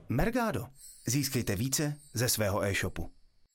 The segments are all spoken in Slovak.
Mergado. Získejte více ze svého e-shopu.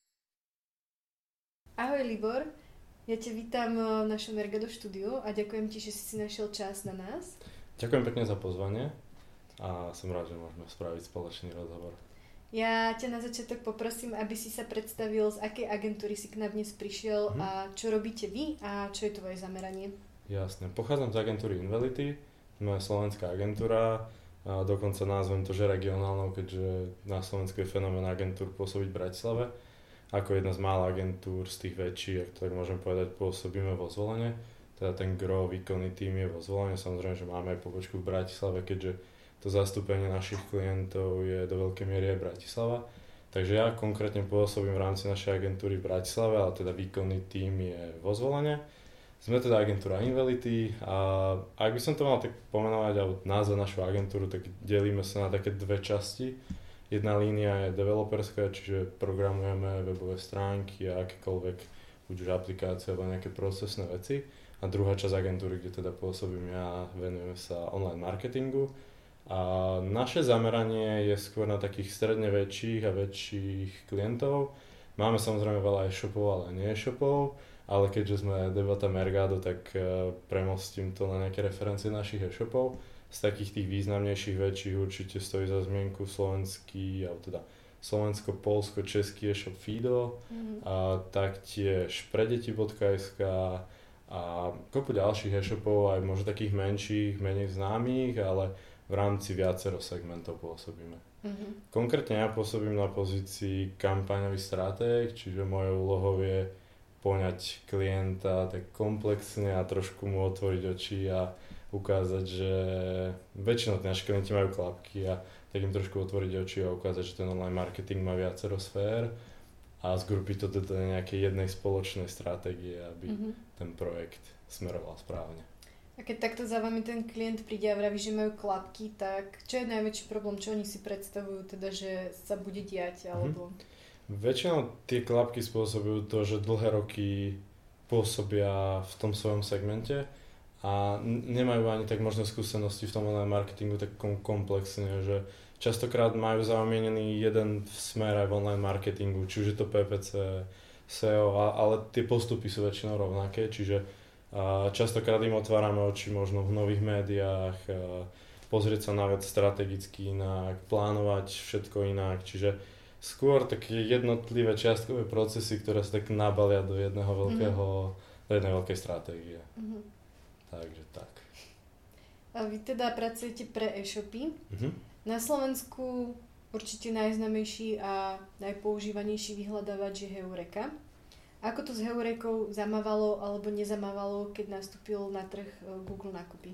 Ahoj Libor, ja ťa vítam v našom Mergado štúdiu a ďakujem ti, že si našel čas na nás. Ďakujem pekne za pozvanie a som rád, že môžeme spraviť spoločný rozhovor. Ja ťa na začiatok poprosím, aby si sa predstavil, z akej agentúry si k nám dnes prišiel a čo robíte vy a čo je tvoje zameranie. Jasne, pochádzam z agentúry Invelity, sme slovenská agentúra, a dokonca názvem to, že regionálnou, keďže na Slovensku je fenomén agentúr pôsobiť v Bratislave. Ako jedna z mála agentúr z tých väčších, ak to tak môžem povedať, pôsobíme vo Zvolene. Teda ten gro, výkonný tím je vo Zvolene, samozrejme, že máme aj pobočku v Bratislave, keďže to zastúpenie našich klientov je do veľkej miery aj Bratislava. Takže ja konkrétne pôsobím v rámci našej agentúry v Bratislave, ale teda výkonný tím je vo Zvolene. Sme teda agentúra Invelity a ak by som to mal tak pomenovať alebo názvať našu agentúru, tak delíme sa na také dve časti. Jedna línia je developerská, čiže programujeme webové stránky a akékoľvek buď už aplikácie alebo nejaké procesné veci. A druhá časť agentúry, kde teda pôsobím ja, venujeme sa online marketingu. A naše zameranie je skôr na takých stredne väčších a väčších klientov. Máme samozrejme veľa e-shopov, ale nie e-shopov, ale keďže sme Debata Mergado, tak premostím to na nejaké referencie našich e-shopov. Z takých tých významnejších väčších určite stojí za zmienku slovenský, alebo teda slovensko-polsko-český e-shop Fido, a taktiež predeti.sk a kopu ďalších e-shopov, aj možno takých menších, menej známych, ale v rámci viacero segmentov pôsobíme. Konkrétne ja pôsobím na pozícii kampaňový stratég, čiže mojou úlohou je poňať klienta tak komplexne a trošku mu otvoriť oči a ukázať, že väčšinou naši klienti majú klapky a tak im trošku otvoriť oči a ukázať, že ten online marketing má viacero sfér a zgrupiť to do nejakej jednej spoločnej stratégie, aby ten projekt smeroval správne. A keď takto za vami ten klient príde a vraví, že majú klapky, tak čo je najväčší problém, čo oni si predstavujú, teda, že sa bude diať, alebo... Väčšinou tie klapky spôsobujú to, že dlhé roky pôsobia v tom svojom segmente a nemajú ani tak možné skúsenosti v tom online marketingu tak komplexne, že častokrát majú zamienený jeden smer aj v online marketingu, či už je to PPC, SEO, ale tie postupy sú väčšinou rovnaké, čiže častokrát im otvárame oči možno v nových médiách, pozrieť sa na vec strategicky inak, plánovať všetko inak, čiže skôr také jednotlivé čiastkové procesy, ktoré sa tak nabalia do jedného do jednej veľkej stratégie. Takže tak. A vy teda pracujete pre e-shopy. Na Slovensku určite najznámejší a najpoužívanejší vyhľadávač je Heureka. Ako to s Heurekou zamávalo alebo nezamávalo, keď nastúpil na trh Google nákupy?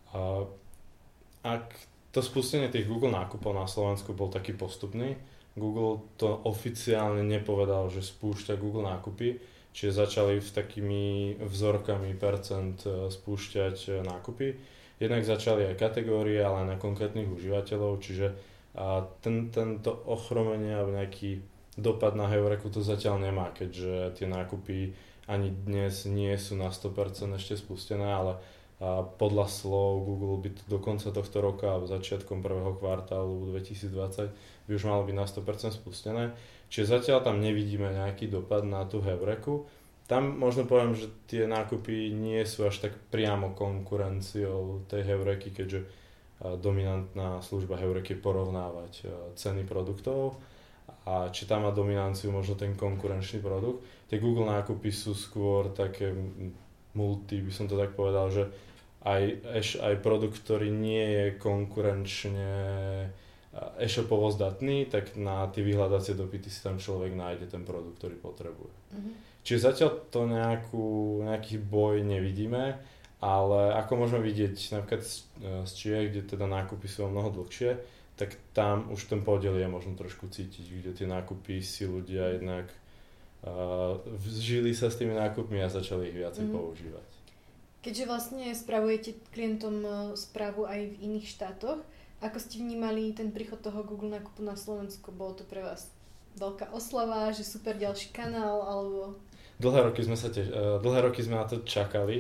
Ak to spustenie tých Google nákupov na Slovensku bol taký postupný, Google to oficiálne nepovedal, že spúšťa Google nákupy, čiže začali s takými vzorkami percent spúšťať nákupy. Jednak začali aj kategórie, ale aj na konkrétnych užívateľov, čiže tento ochromenie alebo nejaký dopad na Heureku to zatiaľ nemá, keďže tie nákupy ani dnes nie sú na 100% ešte spustené, ale podľa slov Google by to do konca tohto roka a začiatkom prvého kvartálu 2020 by už malo byť na 100% spustené. Čiže zatiaľ tam nevidíme nejaký dopad na tú Heureku. Tam možno poviem, že tie nákupy nie sú až tak priamo konkurenciou tej Heureky, keďže dominantná služba Heureky je porovnávať ceny produktov. A či tam má dominanciu možno ten konkurenčný produkt. Tie Google nákupy sú skôr také multi, by som to tak povedal, že aj produkt, ktorý nie je konkurenčne e-shopovo zdatný, tak na tie vyhľadacie dopyty si tam človek nájde ten produkt, ktorý potrebuje. Čiže zatiaľ to nejaký boj nevidíme, ale ako môžeme vidieť napríklad z Čiech, kde teda nákupy sú o mnoho dlhšie, tak tam už ten podiel je možno trošku cítiť, kde tie nákupy si ľudia jednak vžili sa s tými nákupmi a začali ich viacej používať. Keďže vlastne spravujete klientom správu aj v iných štátoch, ako ste vnímali ten príchod toho Google nákupu na Slovensku? Bolo to pre vás veľká oslava, že super ďalší kanál, alebo... Dlhé roky sme na to čakali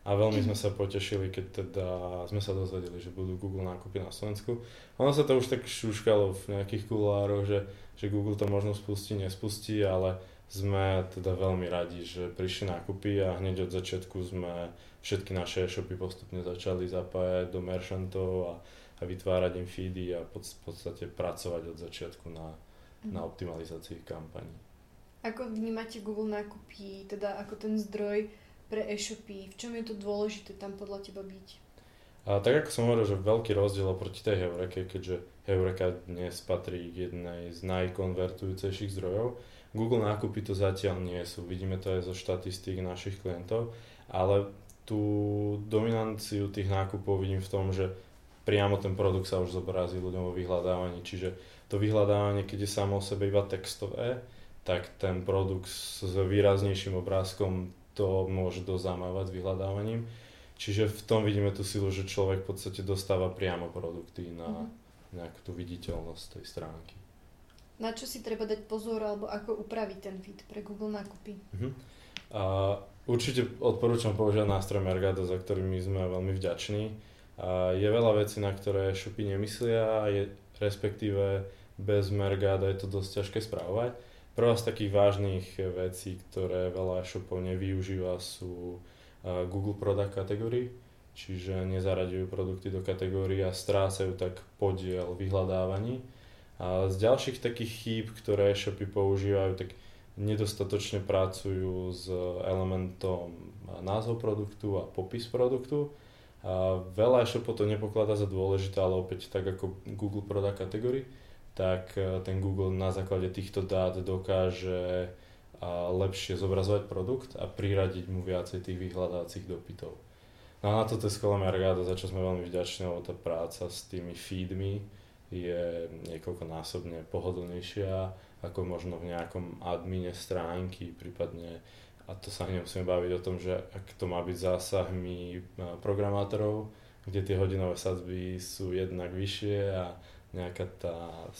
a veľmi sme sa potešili, keď teda sme sa dozvedeli, že budú Google nákupy na Slovensku. Ono sa to už tak šuškalo v nejakých kuloároch, že Google to možno spustí, nespustí, ale sme teda veľmi radi, že prišli nákupy a hneď od začiatku sme všetky naše e-shopy postupne začali zapájať do merchantov a vytvárať im feedy a v podstate pracovať od začiatku na optimalizácii kampaní. Ako vnímate Google nákupy, teda ako ten zdroj pre e-shopy? V čom je to dôležité tam podľa teba byť? A tak ako som hovoril, že veľký rozdiel oproti tej Heureke, keďže Heureka dnes patrí k jednej z najkonvertujúcejších zdrojov, Google nákupy to zatiaľ nie sú. Vidíme to aj zo štatistík našich klientov, ale tú dominanciu tých nákupov vidím v tom, že priamo ten produkt sa už zobrazí ľuďom vo vyhľadávaní. Čiže to vyhľadávanie, keď je samo o sebe iba textové, tak ten produkt s výraznejším obrázkom to môže dosť zamávať s vyhľadávaním. Čiže v tom vidíme tú silu, že človek v podstate dostáva priamo produkty na nejakú tú viditeľnosť tej stránky. Na čo si treba dať pozor alebo ako upraviť ten feed pre Google nákupy? Určite odporúčam používať nástroj Mergado, za ktorými sme veľmi vďační. Je veľa vecí, na ktoré e-shopy nemyslia, respektíve bez Mergada je to dosť ťažké správovať. Prvá z takých vážnych vecí, ktoré veľa e-shopov nevyužíva, sú Google Product Category, čiže nezaraďujú produkty do kategórií a strácajú tak podiel vyhľadávaní. A z ďalších takých chýb, ktoré e-shopy používajú, tak nedostatočne pracujú s elementom názov produktu a popis produktu. A veľa e-shopov to nepokladá za dôležité, ale opäť tak ako Google Product Category, tak ten Google na základe týchto dát dokáže lepšie zobrazovať produkt a priradiť mu viacej tých vyhľadávacích dopytov. No a na toto je skvelé Mergado, za čo sme veľmi vďační, lebo tá práca s tými feedmi je niekoľkonásobne pohodlnejšia ako možno v nejakom admine stránky, prípadne, a to sa nemusíme baviť o tom, že ak to má byť zásahmi programátorov, kde tie hodinové sadzby sú jednak vyššie a nejaká tá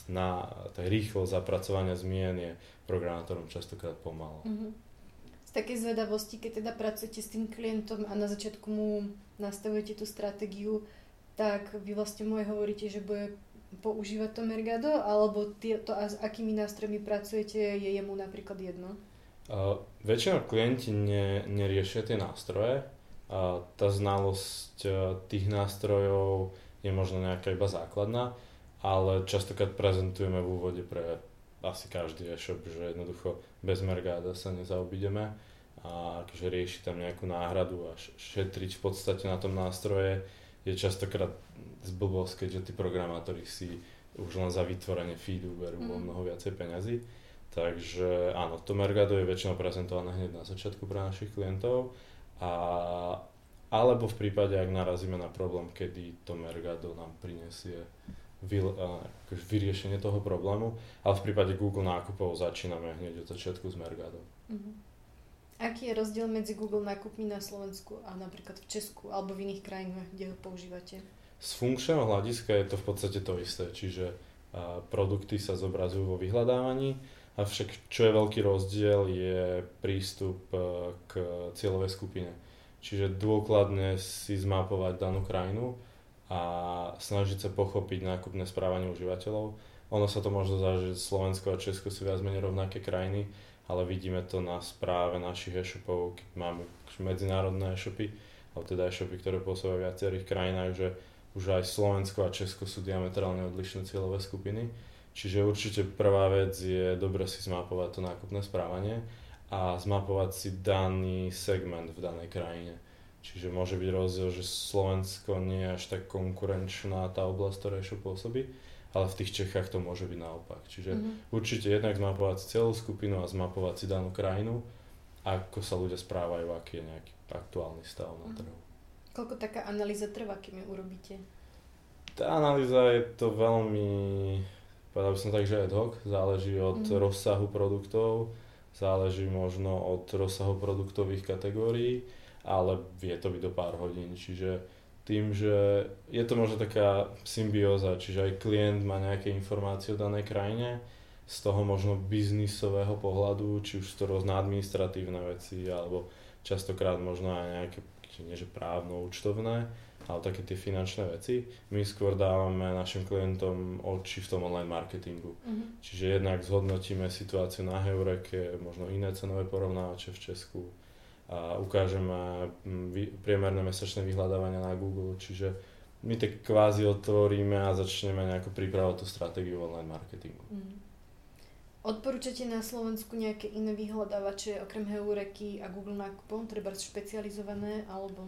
rýchlosť zapracovania zmien je programátorom častokrát pomalá. Z takej zvedavosti, keď teda pracujete s tým klientom a na začiatku mu nastavujete tú stratégiu, tak vy vlastne mu aj hovoríte, že bude používať to Mergado, alebo to, s akými nástrojmi pracujete, je jemu napríklad jedno? Väčšinou klienti neriešia tie nástroje. Tá znalosť tých nástrojov je možno nejaká iba základná, ale častokrát prezentujeme v úvode pre asi každý e-shop, že jednoducho bez Mergada sa nezaobídeme a akože rieši tam nejakú náhradu a šetriť v podstate na tom nástroje je častokrát zblbosť, keďže tí programátori si už len za vytvorenie feedu berú o mnoho viacej peňazí. Takže áno, to Mergado je väčšinou prezentované hneď na začiatku pre našich klientov alebo v prípade, ak narazíme na problém, kedy to Mergado nám prinesie vyriešenie toho problému, ale v prípade Google nákupov začíname hneď od začiatku s Mergadom. Aký je rozdiel medzi Google nákupmi na Slovensku a napríklad v Česku alebo v iných krajinách, kde ho používate? Z funkčného hľadiska je to v podstate to isté, čiže produkty sa zobrazujú vo vyhľadávaní, avšak čo je veľký rozdiel je prístup k cieľovej skupine. Čiže dôkladne si zmapovať danú krajinu a snažiť sa pochopiť nákupné správanie užívateľov. Ono sa to možno zdá, že Slovensko a Česko sú viac menej rovnaké krajiny, ale vidíme to na správe našich e-shopov, keď máme medzinárodné e-shopy, alebo teda e-shopy, ktoré pôsobia v viacerých krajinách, že už aj Slovensko a Česko sú diametrálne odlišné cieľové skupiny. Čiže určite prvá vec je dobre si zmapovať to nákupné správanie a zmapovať si daný segment v danej krajine. Čiže môže byť rozdiel, že Slovensko nie je až tak konkurenčná tá oblasť, ktorá e-shop pôsobí, ale v tých Čechách to môže byť naopak. Čiže určite jednak zmapovať si celú skupinu a zmapovať si danú krajinu, ako sa ľudia správajú, aký je nejaký aktuálny stav na trhu. Koľko taká analýza trvá, kým ju urobíte? Tá analýza je to veľmi, povedal by som tak, že ad hoc, záleží od rozsahu produktov, záleží možno od rozsahu produktových kategórií, ale vie to byť do pár hodín, čiže tým, že je to možno taká symbióza, čiže aj klient má nejaké informácie o danej krajine, z toho možno biznisového pohľadu, či už to rôzne administratívne veci, alebo častokrát možno aj nejaké ešte nie že právno, účtovné, ale také tie finančné veci. My skôr dávame našim klientom oči v tom online marketingu. Čiže jednak zhodnotíme situáciu na Heureke, možno iné cenové porovnávače v Česku a ukážeme priemerné mesačné vyhľadávania na Google. Čiže my tak kvázi otvoríme a začneme nejako pripravovať tú stratégiu online marketingu. Odporúčate na Slovensku nejaké iné vyhľadávače okrem Heureky a Google nákupov, treba špecializované alebo?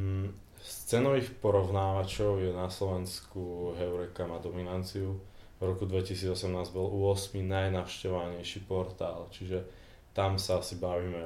Z cenových porovnávačov je na Slovensku Heureka má dominanciu. V roku 2018 bol u 8 najnavštevovanejší portál, čiže tam sa asi bavíme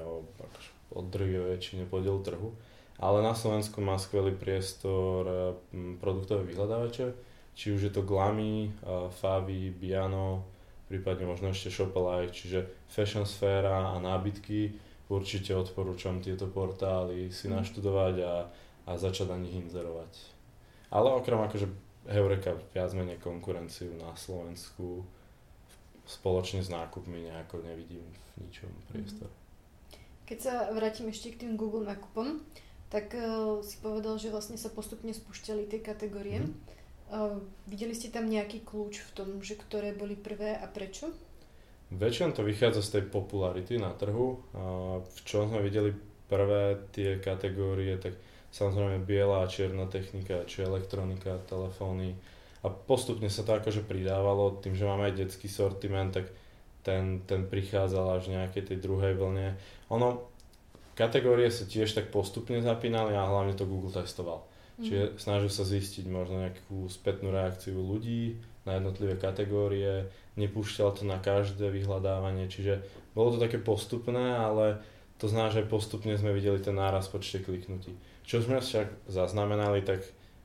o drvivej väčšine podielu trhu. Ale na Slovensku má skvelý priestor produktové vyhľadávače, či už je to Glamy, Favi, Biano, prípadne možno ešte Shopalike, čiže fashion sféra a nábytky. Určite odporúčam tieto portály si naštudovať a začať na nich inzerovať. Ale okrem akože Heureka viac menej konkurenciu na Slovensku spoločne s nákupmi nejako nevidím v ničom priestor. Keď sa vrátim ešte k tým Google nákupom, tak si povedal, že vlastne sa postupne spúšťali tie kategórie. Videli ste tam nejaký kľúč v tom, že ktoré boli prvé a prečo? Väčšinou to vychádza z tej popularity na trhu. V čom sme videli prvé tie kategórie, tak samozrejme biela a čierna technika, či elektronika, telefóny. A postupne sa to akože pridávalo, tým, že máme aj detský sortiment, tak ten prichádzal až v nejakej tej druhej vlne. Kategórie sa tiež tak postupne zapínali a hlavne to Google testoval. Čiže snažil sa zistiť možno nejakú spätnú reakciu ľudí na jednotlivé kategórie, nepúšťal to na každé vyhľadávanie, čiže bolo to také postupné, ale to znamená, že postupne sme videli ten náraz v počte kliknutí. Čo sme však zaznamenali, tak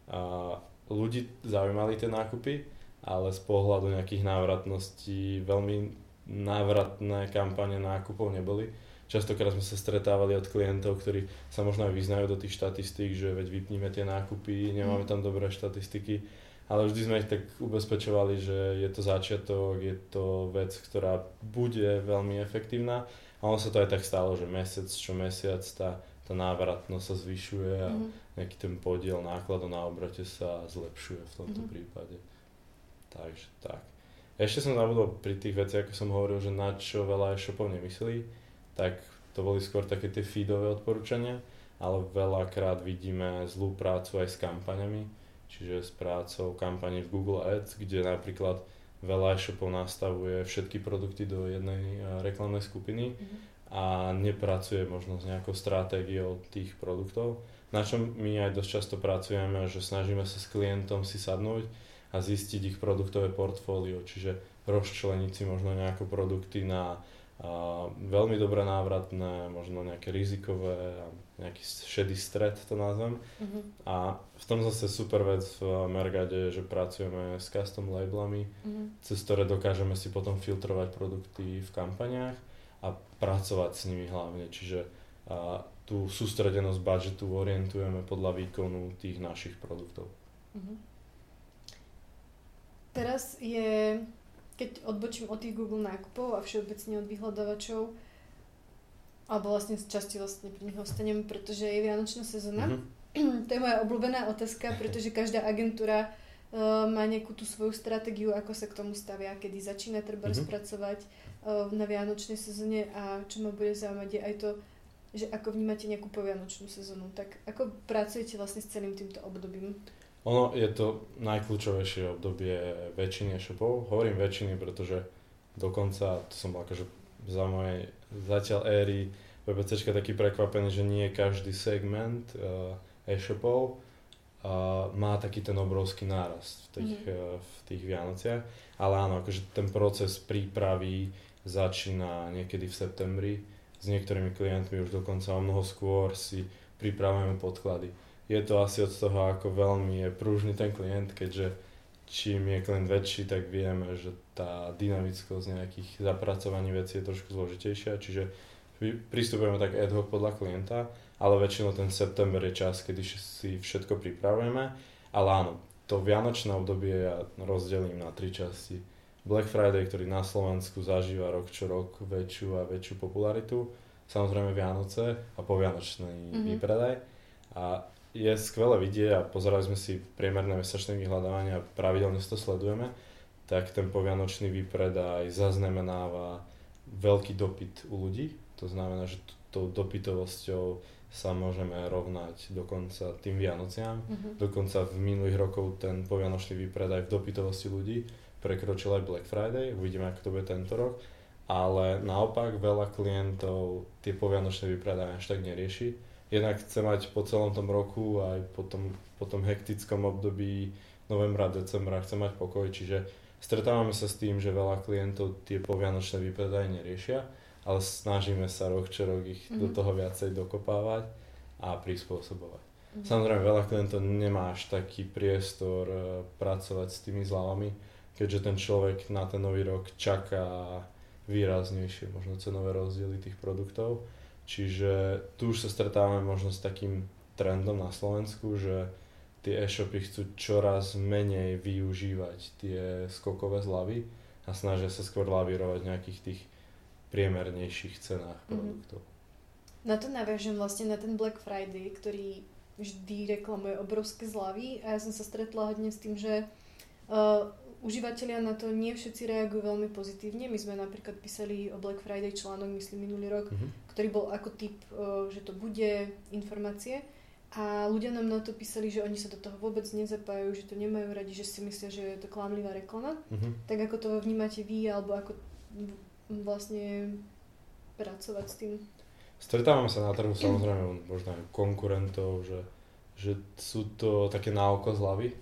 ľudí zaujímali tie nákupy, ale z pohľadu nejakých návratností veľmi návratné kampane nákupov neboli. Častokrát sme sa stretávali od klientov, ktorí sa možno aj vyznajú do tých štatistík, že veď vypníme tie nákupy, nemáme tam dobré štatistiky, ale vždy sme ich tak ubezpečovali, že je to začiatok, je to vec, ktorá bude veľmi efektívna a ono sa to aj tak stalo, že mesiac čo mesiac tá návratnosť sa zvyšuje a nejaký ten podiel nákladov na obrate sa zlepšuje v tomto prípade. Takže tak. Ešte som zabudol pri tých veciach, ako som hovoril, že na čo veľa e-shopov nemyslí, tak to boli skôr také tie feedové odporúčania, ale veľakrát vidíme zlú prácu aj s kampaňami, čiže s prácou kampaní v Google Ads, kde napríklad veľa e-shopov nastavuje všetky produkty do jednej reklamnej skupiny a nepracuje možno s nejakou stratégiou tých produktov, na čom my aj dosť často pracujeme, že snažíme sa s klientom si sadnúť a zistiť ich produktové portfólio, čiže rozčleniť si možno nejaké produkty na veľmi dobre návratné, možno nejaké rizikové, nejaký šedý stred to nazvem. A v tom zase super vec v Mergade je, že pracujeme s custom labelami, cez ktoré dokážeme si potom filtrovať produkty v kampaniách a pracovať s nimi hlavne. Čiže tú sústredenosť budžetu orientujeme podľa výkonu tých našich produktov. Teraz je, keď odbočím od tých Google nákupov a všeobecne od vyhľadávačov, alebo vlastne z časti pri nich ostanem, pretože je vianočná sezóna. To je moja obľúbená otázka, pretože každá agentúra má nejakú tú svoju stratégiu, ako sa k tomu stavia, kedy začína treba spracovať na vianočnej sezóne a čo ma bude zaujímať je aj to, že ako vnímate nejakú povianočnú sezónu. Tak ako pracujete vlastne s celým týmto obdobím? Ono je to najkľúčovejšie obdobie väčšiny e-shopov. Hovorím väčšiny, pretože dokonca, to som bol akože za mojej zatiaľ éry PPCčka taký prekvapený, že nie každý segment e-shopov má taký ten obrovský nárast v tých Vianociach. Ale áno, akože ten proces prípravy začína niekedy v septembri. S niektorými klientmi už dokonca o mnoho skôr si pripravujeme podklady. Je to asi od toho, ako veľmi je pružný ten klient, keďže čím je klient väčší, tak vieme, že tá dynamickosť nejakých zapracovaní vecí je trošku zložitejšia, čiže pristupujeme tak ad hoc podľa klienta, ale väčšinou ten september je čas, kedy si všetko pripravujeme, ale áno, to vianočné obdobie ja rozdelím na 3 časti. Black Friday, ktorý na Slovensku zažíva rok čo rok väčšiu a väčšiu popularitu, samozrejme Vianoce a povianočný výpredaj. A je skvelé vidieť a pozerali sme si priemerné mesačné vyhľadávania a pravidelne si to sledujeme, tak ten povianočný výpredaj zaznamenáva veľký dopyt u ľudí. To znamená, že tou dopytovosťou sa môžeme rovnať dokonca tým Vianociam. Dokonca v minulých rokov ten povianočný výpredaj v dopytovosti ľudí prekročil aj Black Friday. Uvidíme, ako to bude tento rok. Ale naopak veľa klientov tie povianočné výpredaje až tak nerieši. Jednak chce mať po celom tom roku aj po tom hektickom období novembra, decembra chce mať pokoj. Čiže stretávame sa s tým, že veľa klientov tie povianočné výpredaje neriešia, ale snažíme sa rok čo rok ich do toho viacej dokopávať a prispôsobovať. Samozrejme, veľa klientov nemá až taký priestor pracovať s tými zľavami, keďže ten človek na ten nový rok čaká výraznejšie možno cenové rozdiely tých produktov. Čiže tu už sa stretávame možno s takým trendom na Slovensku, že tie e-shopy chcú čoraz menej využívať tie skokové zľavy a snažia sa skôr lavírovať v nejakých tých priemernejších cenách produktov. Na to naviažem vlastne na ten Black Friday, ktorý vždy reklamuje obrovské zľavy a ja som sa stretla hodne s tým, že užívateľia na to nie všetci reagujú veľmi pozitívne. My sme napríklad písali o Black Friday článok, myslím minulý rok, ktorý bol ako typ, že to bude informácie a ľudia nám na to písali, že oni sa do toho vôbec nezapájajú, že to nemajú radi, že si myslia, že je to klamlivá reklama. Tak ako to vnímate vy, alebo ako vlastne pracovať s tým? Stretávame sa na trhu samozrejme možno aj konkurentov, že sú to také na oko zľavy,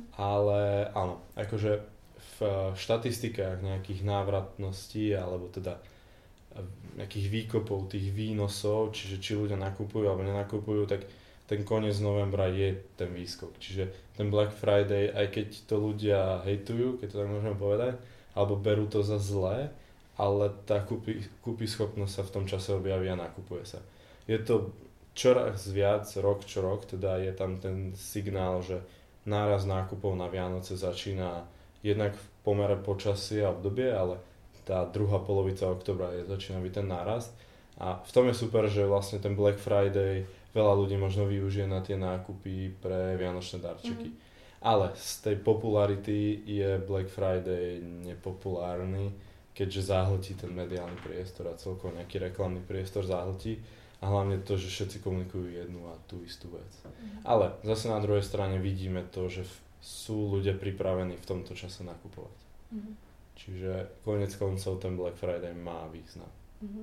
ale áno, akože v štatistikách nejakých návratností alebo teda nejakých výkopov tých výnosov, čiže či ľudia nakupujú alebo nenakupujú, tak ten koniec novembra je ten výskok. Čiže ten Black Friday, aj keď to ľudia hejtujú, keď to tak môžeme povedať, alebo berú to za zlé, ale tá kúpyschopnosť sa v tom čase objaví a nakupuje sa. Je to čoraz viac, rok čo rok, teda je tam ten signál, že náraz nákupov na Vianoce začína jednak v pomere počasia a obdobie, ale tá druhá polovica októbra začína byť ten nárast. A v tom je super, že vlastne ten Black Friday veľa ľudí možno využije na tie nákupy pre vianočné darčeky. Ale z tej popularity je Black Friday nepopulárny, keďže zahltí ten mediálny priestor a celkovo nejaký reklamný priestor zahltí a hlavne to, že všetci komunikujú jednu a tú istú vec. Ale zase na druhej strane vidíme to, že sú ľudia pripravení v tomto čase nakupovať. Čiže koniec koncov ten Black Friday má význam.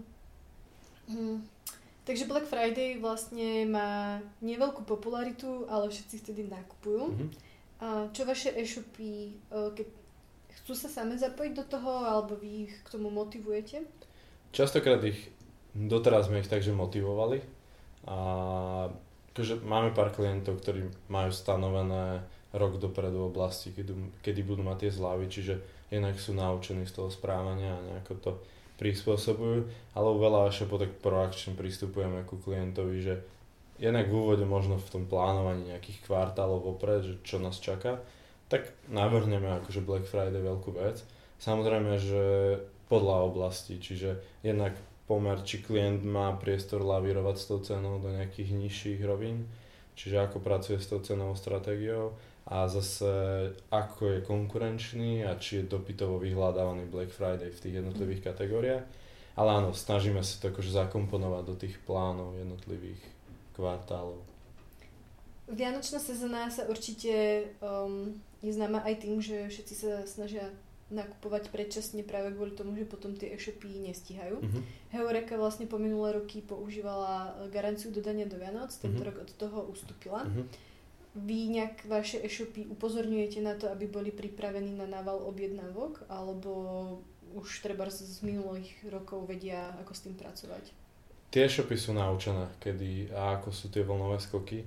Takže Black Friday vlastne má neveľkú popularitu, ale všetci vtedy nakupujú. A čo vaše e-shopy, keď chcú sa same zapojiť do toho, alebo vy ich k tomu motivujete? Častokrát doteraz sme ich takže motivovali a akože máme pár klientov, ktorí majú stanovené rok dopredu oblasti, kedy budú mať tie zľavy, čiže jednak sú naučení z toho správania a nejako to prispôsobujú, ale veľa e-shopov tak proakčne pristupujeme ku klientovi, že jednak v úvode možno v tom plánovaní nejakých kvartálov vopred, že čo nás čaká, tak navrhneme akože Black Friday veľkú vec. Samozrejme, že podľa oblasti, čiže jednak pomer, či klient má priestor lavírovať s tou cenou do nejakých nižších rovín, čiže ako pracuje s tou cenovou stratégiou a zase ako je konkurenčný a či je dopytovo vyhľadávaný Black Friday v tých jednotlivých kategóriách. Ale áno, snažíme sa to akože zakomponovať do tých plánov jednotlivých kvartálov. Vianočná sezóna sa určite je známa aj tým, že všetci sa snažia nakupovať predčasne práve kvôli tomu, že potom tie e-shopy nestíhajú. Heureka vlastne po minulé roky používala garanciu dodania do Vianoc, tento rok od toho ustúpila. Vy nejak vaše e-shopy upozorňujete na to, aby boli pripravení na nával objednávok, alebo už treba z minulých rokov vedia, ako s tým pracovať? Tie e-shopy sú naučené, kedy a ako sú tie vlnové skoky.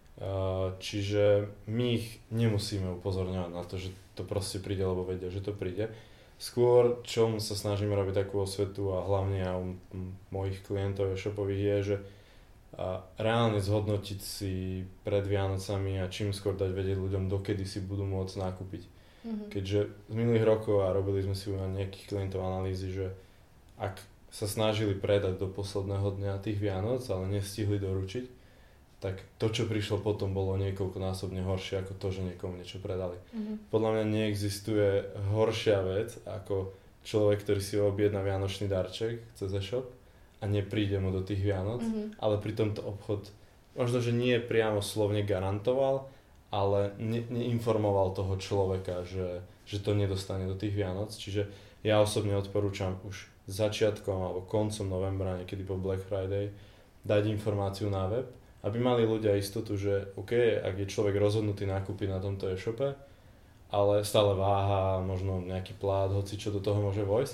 Čiže my ich nemusíme upozorňovať na to, že to proste príde, lebo vedia, že to príde. Skôr, čo sa snažíme robiť takú osvetu a hlavne aj u mojich klientov e-shopových je, že reálne zhodnotiť si pred Vianocami a čím skôr dať vedieť ľuďom, dokedy si budú môcť nakúpiť. Keďže z minulých rokov a robili sme si u nejakých klientov analýzy, že ak sa snažili predať do posledného dňa tých Vianoc, ale nestihli doručiť, tak to, čo prišlo potom, bolo niekoľkonásobne horšie ako to, že niekomu niečo predali. Podľa mňa neexistuje horšia vec ako človek, ktorý si objedná vianočný darček cez e-shop a nepríde mu do tých Vianoc, ale pritom to obchod možno, že nie priamo slovne garantoval, ale neinformoval toho človeka, že to nedostane do tých Vianoc. Čiže ja osobne odporúčam už začiatkom alebo koncom novembra, niekedy po Black Friday, dať informáciu na web, aby mali ľudia istotu, že OK, ak je človek rozhodnutý nakúpiť na tomto e-shope, ale stále váha, možno nejaký plát, hoci čo do toho môže vojsť,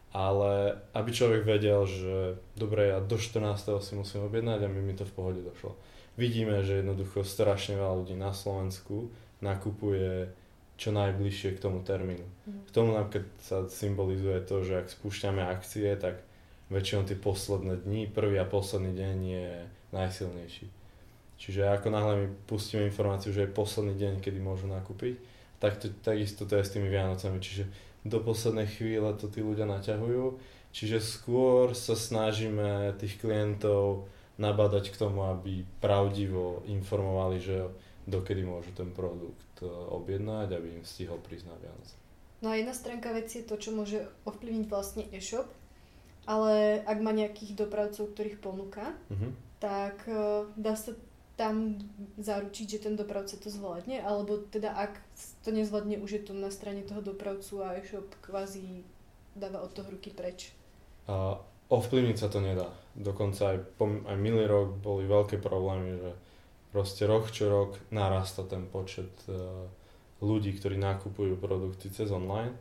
ale aby človek vedel, že dobre, ja do 14. si musím objednať a mi to v pohode došlo. Vidíme, že jednoducho strašne veľa ľudí na Slovensku nakupuje čo najbližšie k tomu termínu. K tomu napríklad sa symbolizuje to, že ak spúšťame akcie, tak väčšinou tie posledné dni, prvý a posledný deň je najsilnejší. Čiže ako náhle mi pustíme informáciu, že je posledný deň, kedy môžu nakúpiť, takisto to je s tými Vianocami. Čiže do poslednej chvíle to tí ľudia naťahujú. Čiže skôr sa snažíme tých klientov nabádať k tomu, aby pravdivo informovali, že dokedy môžu ten produkt objednať, aby im stihol prísť na Vianoce. No a jedna stránka veci je to, čo môže ovplyvniť vlastne e-shop, ale ak má nejakých dopravcov, ktorých ponúka, tak dá sa tam zaručiť, že ten dopravca to zvládne, alebo teda ak to nezvládne, už je to na strane toho dopravcu a e-shop kvázi dáva od toho ruky preč. Ovplyvniť sa to nedá. Dokonca aj minulý rok boli veľké problémy, že proste rok čo rok narastá ten počet ľudí, ktorí nakupujú produkty cez online,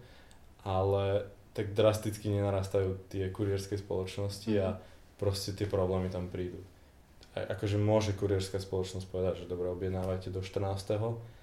ale tak drasticky nenarastajú tie kurierské spoločnosti a proste tie problémy tam prídu. Akože môže kurierská spoločnosť povedať, že dobre, objednávajte do 14.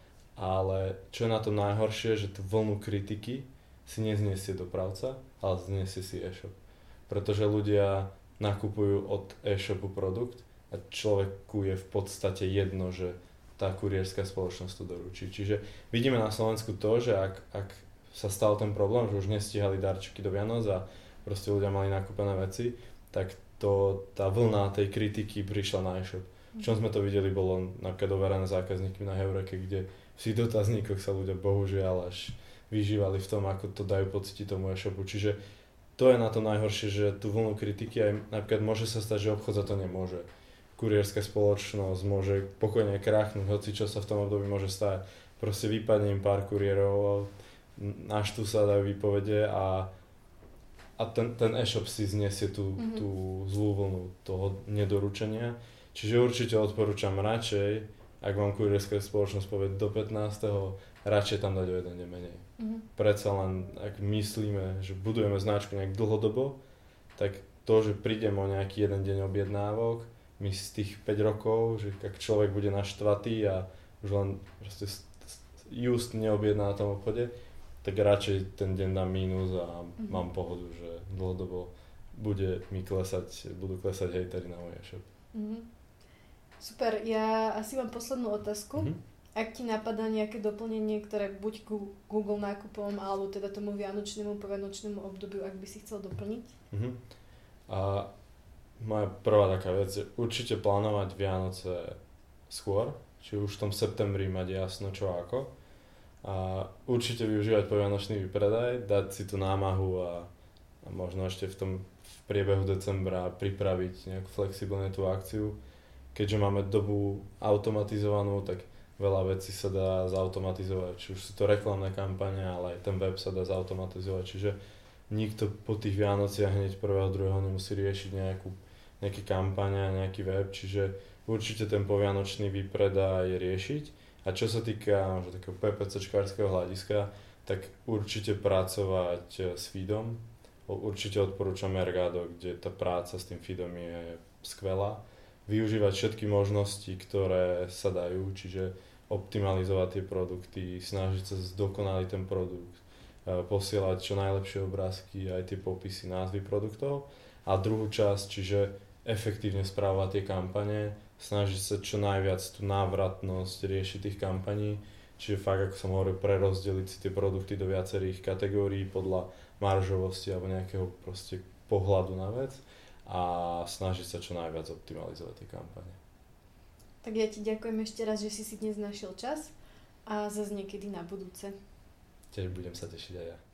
Ale čo je na tom najhoršie, že tú vlnu kritiky si nezniesie dopravca, ale zniesie si e-shop. Pretože ľudia nakupujú od e-shopu produkt a človeku je v podstate jedno, že tá kurierská spoločnosť to doručí. Čiže vidíme na Slovensku to, že ak sa stal ten problém, že už nestíhali darčeky do Vianoc a proste ľudia mali nakúpené veci, tak tá vlna tej kritiky prišla na e-shop. V čom sme to videli, bolo napríklad overené zákazníkmi na Heureke, kde v tých dotazníkoch sa ľudia bohužiaľ až vyžívali v tom, ako to dajú pocítiť tomu e-shopu. Čiže to je na to najhoršie, že tú vlnu kritiky aj napríklad môže sa stať, že obchod za to nemôže. Kurierská spoločnosť môže pokojne krachnúť, hoci čo sa v tom období môže stať. Proste vypadne im pár kuriérov, naštú sa, dajú výpovede a ten e-shop si zniesie tú zlú vlnu toho nedoručenia. Čiže určite odporúčam radšej, ak vám kurierská spoločnosť povie do 15. radšej tam dať o jeden deň menej. Predsa len, ak myslíme, že budujeme značku nejak dlhodobo, tak to, že prídem o nejaký jeden deň objednávok, my z tých 5 rokov, že ak človek bude naštvatý a už len proste just neobjedná na tom obchode, tak radšej ten deň dám mínus a mám pohodu, že dlhodobo budú klesať hejteri na môj e-shop. Super, ja asi mám poslednú otázku. Ak ti napadá nejaké doplnenie, ktoré buď ku Google nákupom, alebo teda tomu vianočnému, povianočnému obdobiu, ak by si chcel doplniť? A moja prvá taká vec je určite plánovať Vianoce skôr, či už v tom septembri mať jasno čo ako. A určite využívať povianočný výpredaj, dať si tú námahu a možno ešte v priebehu decembra pripraviť nejak flexibilne tú akciu. Keďže máme dobu automatizovanú, tak veľa vecí sa dá zautomatizovať, či už sú to reklamné kampane, ale aj ten web sa dá zautomatizovať, čiže nikto po tých Vianociach hneď 1. 2. nemusí riešiť nejaké kampane a nejaký web, čiže určite ten povianočný výpredaj riešiť. A čo sa týka takého PPC-čkárskeho hľadiska, tak určite pracovať s feedom. Určite odporúčam Mercado, kde tá práca s tým feedom je skvelá. Využívať všetky možnosti, ktoré sa dajú, čiže optimalizovať tie produkty, snažiť sa zdokonaliť ten produkt, posielať čo najlepšie obrázky, aj tie popisy, názvy produktov. A druhú časť, čiže efektívne správovať tie kampane, snažiť sa čo najviac tú návratnosť riešiť tých kampaní, čiže fakt, ako som hovoril, prerozdeliť si tie produkty do viacerých kategórií podľa maržovosti alebo nejakého proste pohľadu na vec a snažiť sa čo najviac optimalizovať tie kampane. Tak ja ti ďakujem ešte raz, že si dnes našiel čas a zase niekedy na budúce. Tiež budem sa tešiť aj ja.